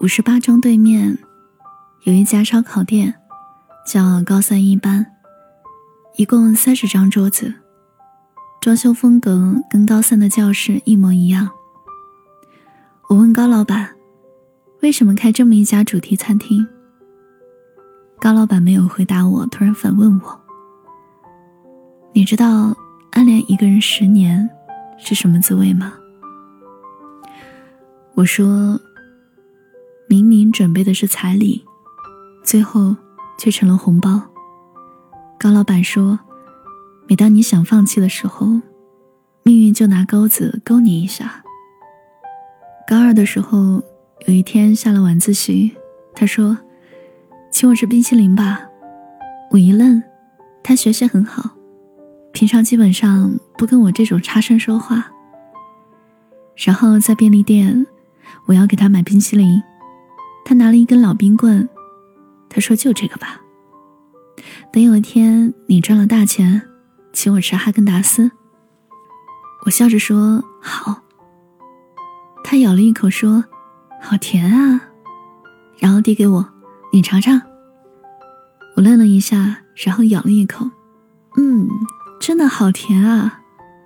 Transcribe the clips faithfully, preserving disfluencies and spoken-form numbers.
五十八中对面有一家烧烤店，叫高三一班，一共三十张桌子，装修风格跟高三的教室一模一样。我问高老板，为什么开这么一家主题餐厅？高老板没有回答我，突然反问我，你知道暗恋一个人十年是什么滋味吗？我说，明明准备的是彩礼，最后却成了红包。高老板说，每当你想放弃的时候，命运就拿钩子勾你一下。高二的时候，有一天下了晚自习，他说，请我吃冰淇淋吧。我一愣，他学习很好，平常基本上不跟我这种差生说话。然后在便利店，我要给他买冰淇淋，他拿了一根老冰棍，他说就这个吧。等有一天你赚了大钱，请我吃哈根达斯。我笑着说好。他咬了一口说，好甜啊，然后递给我，你尝尝。我愣了一下，然后咬了一口，嗯，真的好甜啊。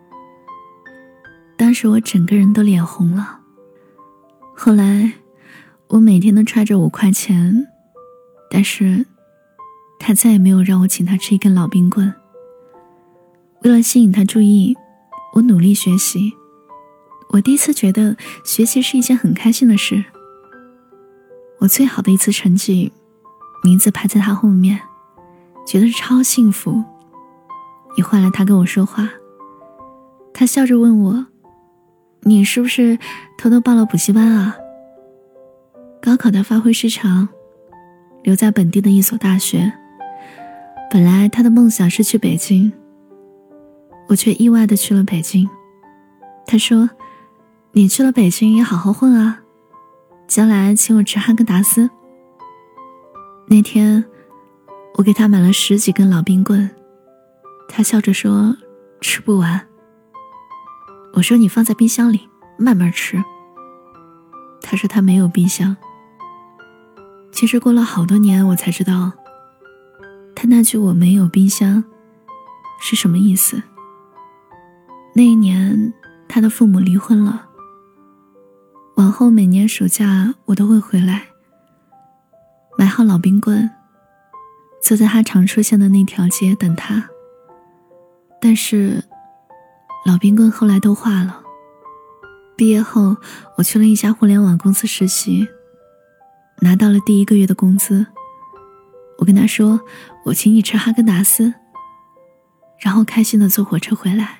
当时我整个人都脸红了。后来我每天都揣着五块钱，但是他再也没有让我请他吃一根老冰棍。为了吸引他注意，我努力学习。我第一次觉得学习是一件很开心的事。我最好的一次成绩，名字排在他后面，觉得超幸福。也换来他跟我说话，他笑着问我，你是不是偷偷报了补习班啊？高考他发挥失常，留在本地的一所大学。本来他的梦想是去北京，我却意外地去了北京。他说，你去了北京也好好混啊，将来请我吃哈根达斯。那天我给他买了十几根老冰棍，他笑着说吃不完。我说你放在冰箱里慢慢吃。他说他没有冰箱。其实过了好多年，我才知道他那句我没有冰箱是什么意思。那一年他的父母离婚了，往后每年暑假我都会回来，买好老冰棍，坐在他常出现的那条街等他。但是老冰棍后来都化了。毕业后我去了一家互联网公司实习，拿到了第一个月的工资。我跟他说，我请你吃哈根达斯，然后开心地坐火车回来。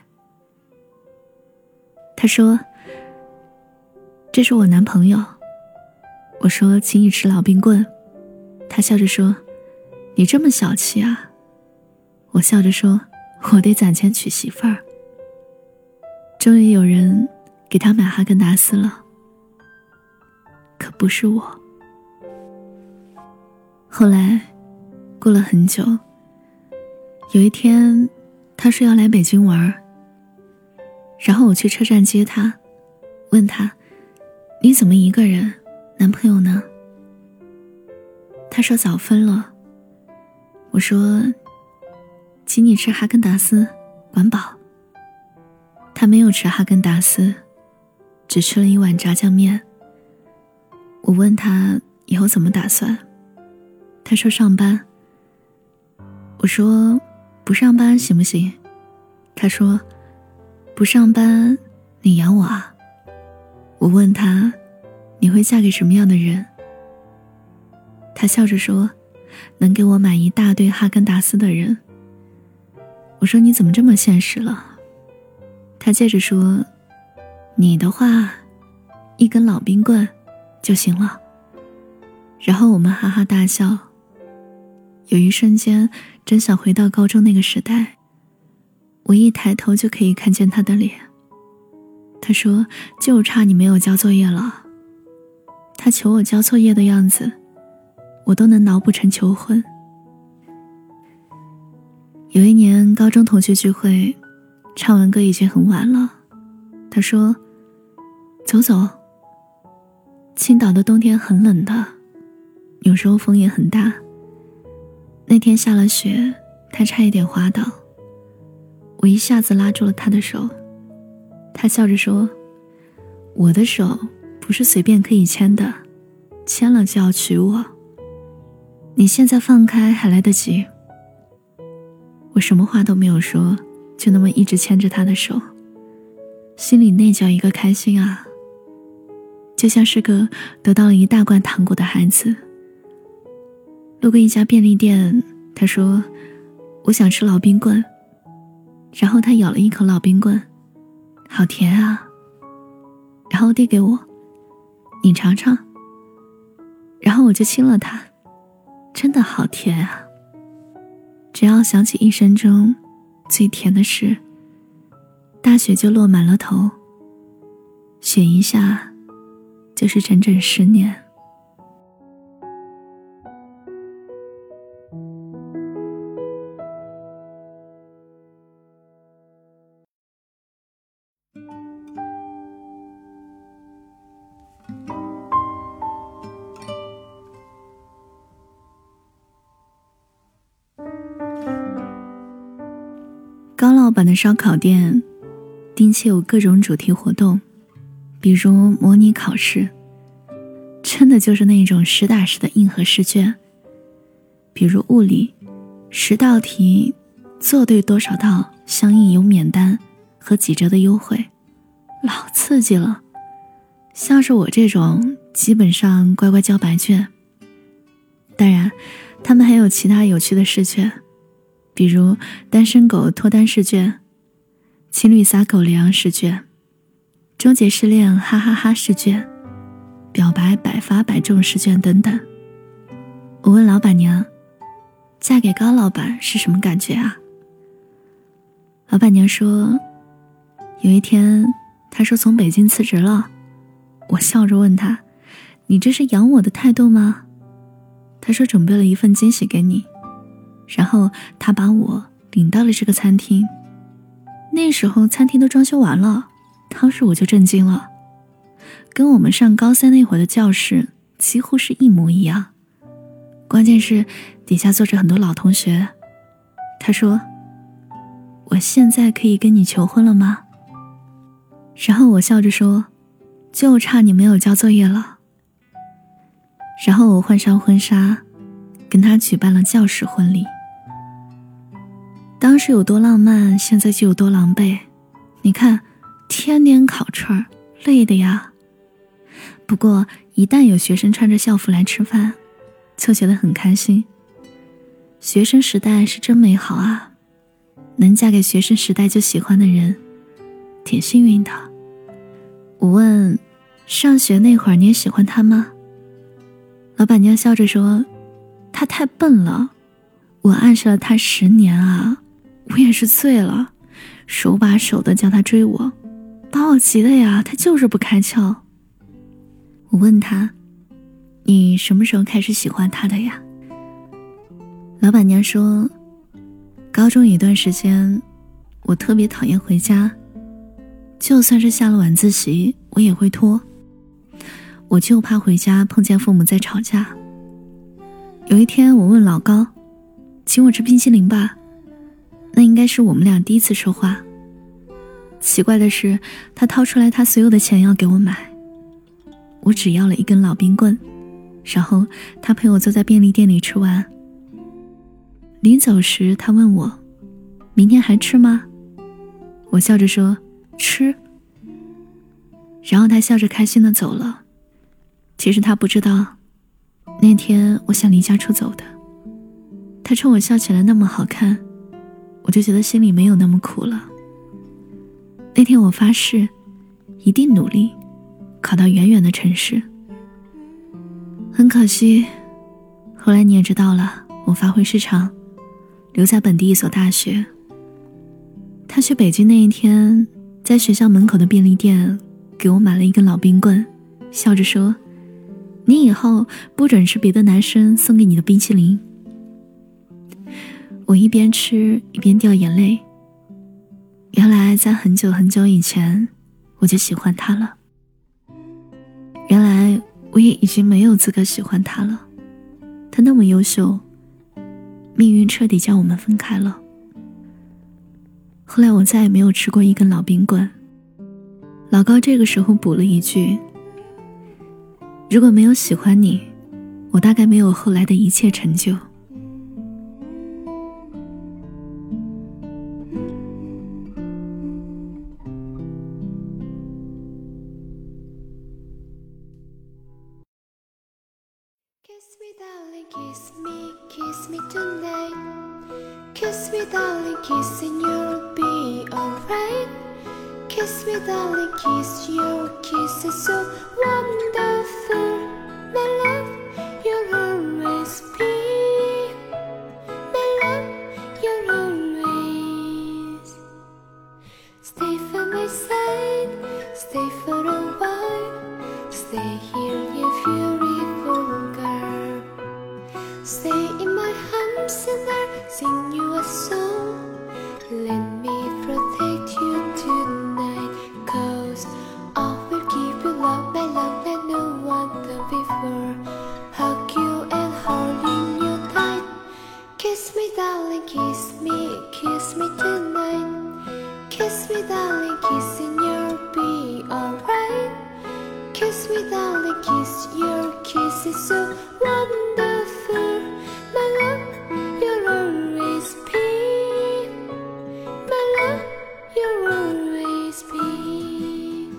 他说，这是我男朋友。我说，请你吃老冰棍。他笑着说，你这么小气啊。我笑着说，我得攒钱娶媳妇儿。终于有人给他买哈根达斯了，可不是我。后来过了很久，有一天他说要来北京玩，然后我去车站接他，问他，你怎么一个人，男朋友呢？他说早分了。我说，请你吃哈根达斯，管饱。他没有吃哈根达斯，只吃了一碗炸酱面。我问他以后怎么打算，他说上班。我说不上班行不行？他说不上班你养我啊。我问他，你会嫁给什么样的人？他笑着说，能给我买一大堆哈根达斯的人。我说你怎么这么现实了？他接着说，你的话一根老冰棍就行了。然后我们哈哈大笑。有一瞬间真想回到高中那个时代，我一抬头就可以看见他的脸。他说，就差你没有交作业了。他求我交作业的样子，我都能脑补成求婚。有一年高中同学聚会，唱完歌已经很晚了，他说走走。 青岛的冬天很冷的，有时候风也很大。那天下了雪，他差一点滑倒，我一下子拉住了他的手。他笑着说，我的手不是随便可以牵的，牵了就要娶我，你现在放开还来得及。我什么话都没有说，就那么一直牵着他的手，心里那叫一个开心啊，就像是个得到了一大罐糖果的孩子。路过一家便利店，他说我想吃老冰棍，然后他咬了一口老冰棍，好甜啊，然后递给我，你尝尝，然后我就亲了他，真的好甜啊。只要想起一生中最甜的事，大雪就落满了头，雪一下就是整整十年。高老板的烧烤店定期有各种主题活动，比如模拟考试，真的就是那种实打实的硬核试卷。比如物理，十道题做对多少道相应有免单和几折的优惠，老刺激了。像是我这种基本上乖乖交白卷。当然他们还有其他有趣的试卷，比如单身狗脱单试卷、情侣撒狗粮试卷、终结失恋哈哈哈试卷、表白百发百中试卷等等。我问老板娘，嫁给高老板是什么感觉啊？老板娘说，有一天他说从北京辞职了。我笑着问他，你这是养我的态度吗？他说准备了一份惊喜给你，然后他把我领到了这个餐厅。那时候餐厅都装修完了，当时我就震惊了，跟我们上高三那会儿的教室几乎是一模一样。关键是底下坐着很多老同学。他说，我现在可以跟你求婚了吗？然后我笑着说，就差你没有交作业了。然后我换上婚纱，跟他举办了教室婚礼。当时有多浪漫，现在就有多狼狈。你看，天天烤串，累的呀。不过一旦有学生穿着校服来吃饭，就觉得很开心。学生时代是真美好啊，能嫁给学生时代就喜欢的人，挺幸运的。我问，上学那会儿你也喜欢他吗？老板娘笑着说，他太笨了，我暗示了他十年啊，我也是醉了，手把手的叫他追我，把我急的呀，他就是不开窍。我问他，你什么时候开始喜欢他的呀？老板娘说，高中一段时间我特别讨厌回家，就算是下了晚自习我也会拖，我就怕回家碰见父母在吵架。有一天我问老高，请我吃冰淇淋吧，那应该是我们俩第一次说话。奇怪的是，他掏出来他所有的钱要给我买，我只要了一根老冰棍，然后他陪我坐在便利店里吃完。临走时他问我，明天还吃吗？我笑着说，吃。然后他笑着开心地走了。其实他不知道，那天我想离家出走的。他冲我笑起来那么好看，我就觉得心里没有那么苦了。那天我发誓，一定努力考到远远的城市。很可惜，后来你也知道了，我发挥失常，留在本地一所大学。他去北京那一天，在学校门口的便利店给我买了一根老冰棍，笑着说，你以后不准吃别的男生送给你的冰淇淋。我一边吃一边掉眼泪，原来在很久很久以前我就喜欢他了。原来我也已经没有资格喜欢他了。他那么优秀，命运彻底将我们分开了。后来我再也没有吃过一根老冰棍。老高这个时候补了一句，如果没有喜欢你，我大概没有后来的一切成就。 Kiss me, darling, kiss me, kiss me tonight. Kiss me, darling, kiss and you'll be alright. Kiss me, darling, kiss, your kiss is so wonderful. My love, you'll always be. My love, you'll always stay by my side, stay for a while. Stay here, you beautiful girl. Stay in my arms and I'll sing you a song. Let me protect you tonight, 'cause I will give you love, my love that no one done before. Hug you and holding you tight. Kiss me, darling, kiss me, kiss me tonight. Kiss me, darling, kiss and you'll be alright. Kiss me, darling, kiss, your kiss is so wonderful. My love, you'll always be. My love, you'll always be.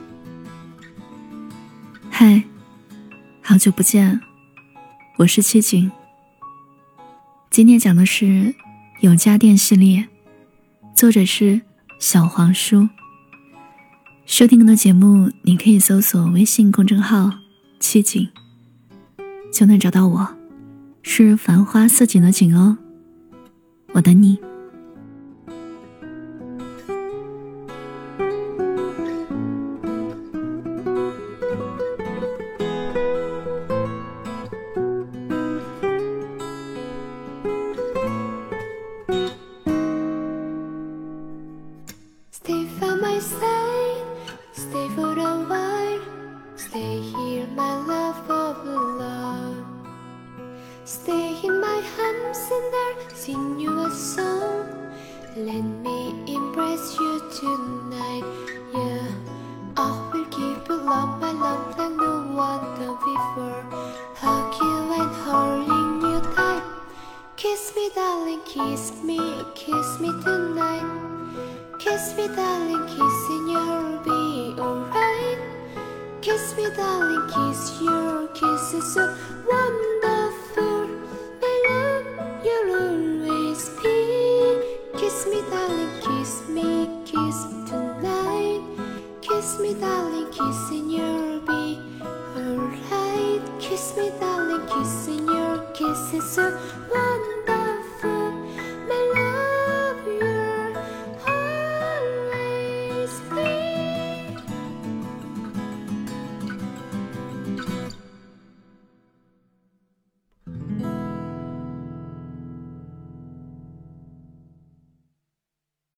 嗨，好久不见，我是七景。今天讲的是有家电系列，作者是小黄书。收听更多节目，你可以搜索微信公众号七景，就能找到我，是繁花似锦的锦哦，我等你。 Stay by my side, stay for a while. Stay here, my love of love. Stay in my arms and I'll sing you a song. Let me embrace you tonight. Yeah, I will give you love, my love like no one done before. Hug you and holding you tight. Kiss me, darling, kiss me, kiss me tonight. Kiss me, darling, kiss and you'll be alright. Kiss me, darling, kiss, your kiss is so wonderful. My love, you'll always be. Kiss me, darling, kiss me, kiss tonight. Kiss me, darling, kiss and you'll be alright. Kiss me, darling, kiss and your kiss is so wonderful.